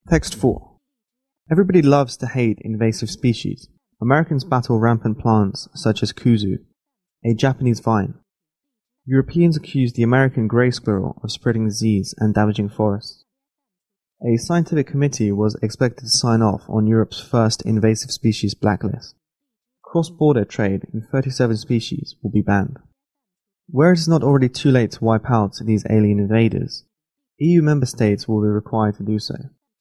Text 4. Everybody loves to hate invasive species. Americans battle rampant plants such as kuzu, a Japanese vine. Europeans accuse the American grey squirrel of spreading disease and damaging forests. A scientific committee was expected to sign off on Europe's first invasive species blacklist. Cross-border trade in 37 species will be banned. Where it is not already too late to wipe out these alien invaders, EU member states will be required to do so.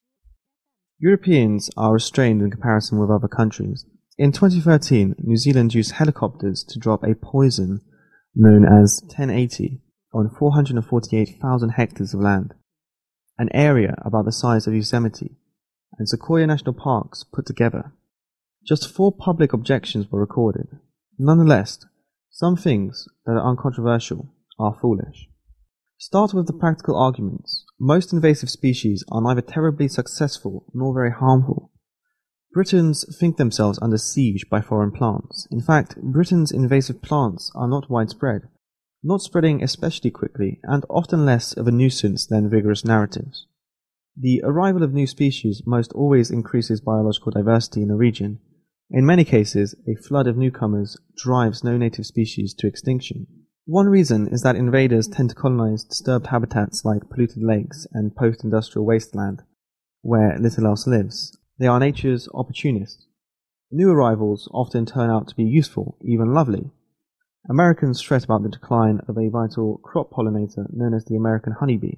Europeans are restrained in comparison with other countries. In 2013, New Zealand used helicopters to drop a poison known as 1080 on 448,000 hectares of land, an area about the size of Yosemite and Sequoia National Parks put together. Just 4 public objections were recorded. Nonetheless, some things that are uncontroversial are foolish. Start with the practical arguments. Most invasive species are neither terribly successful nor very harmful. Britons think themselves under siege by foreign plants. In fact, Britain's invasive plants are not widespread, not spreading especially quickly, and often less of a nuisance than vigorous narratives. The arrival of new species most always increases biological diversity in a region. In many cases, a flood of newcomers drives no native species to extinction. One reason is that invaders tend to colonize disturbed habitats like polluted lakes and post-industrial wasteland, where little else lives. They are nature's opportunists. New arrivals often turn out to be useful, even lovely. Americans fret about the decline of a vital crop pollinator known as the American honeybee.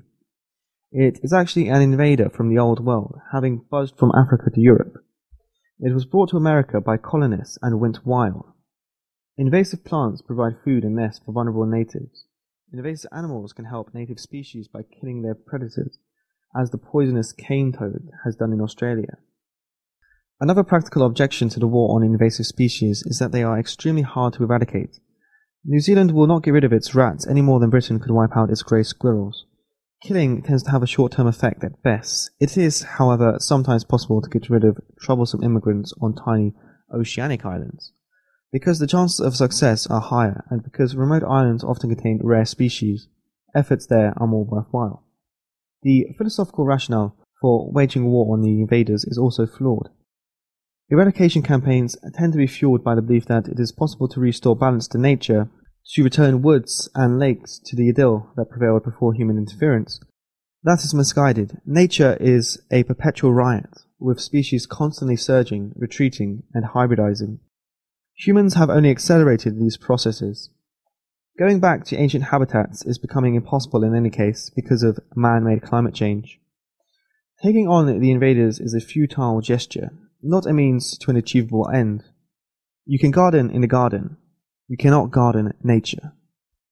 It is actually an invader from the Old World, having buzzed from Africa to Europe. It was brought to America by colonists and went wild. Invasive plants provide food and nests for vulnerable natives. Invasive animals can help native species by killing their predators, as the poisonous cane toad has done in Australia. Another practical objection to the war on invasive species is that they are extremely hard to eradicate. New Zealand will not get rid of its rats any more than Britain could wipe out its grey squirrels. Killing tends to have a short-term effect at best. It is, however, sometimes possible to get rid of troublesome immigrants on tiny oceanic islands. Because the chances of success are higher, and because remote islands often contain rare species, efforts there are more worthwhile. The philosophical rationale for waging war on the invaders is also flawed. Eradication campaigns tend to be fueled by the belief that it is possible to restore balance to nature, to return woods and lakes to the idyll that prevailed before human interference. That is misguided. Nature is a perpetual riot, with species constantly surging, retreating, and hybridizing. Humans have only accelerated these processes. Going back to ancient habitats is becoming impossible in any case because of man-made climate change. Taking on the invaders is a futile gesture, not a means to an achievable end. You can garden in a garden. You cannot garden nature.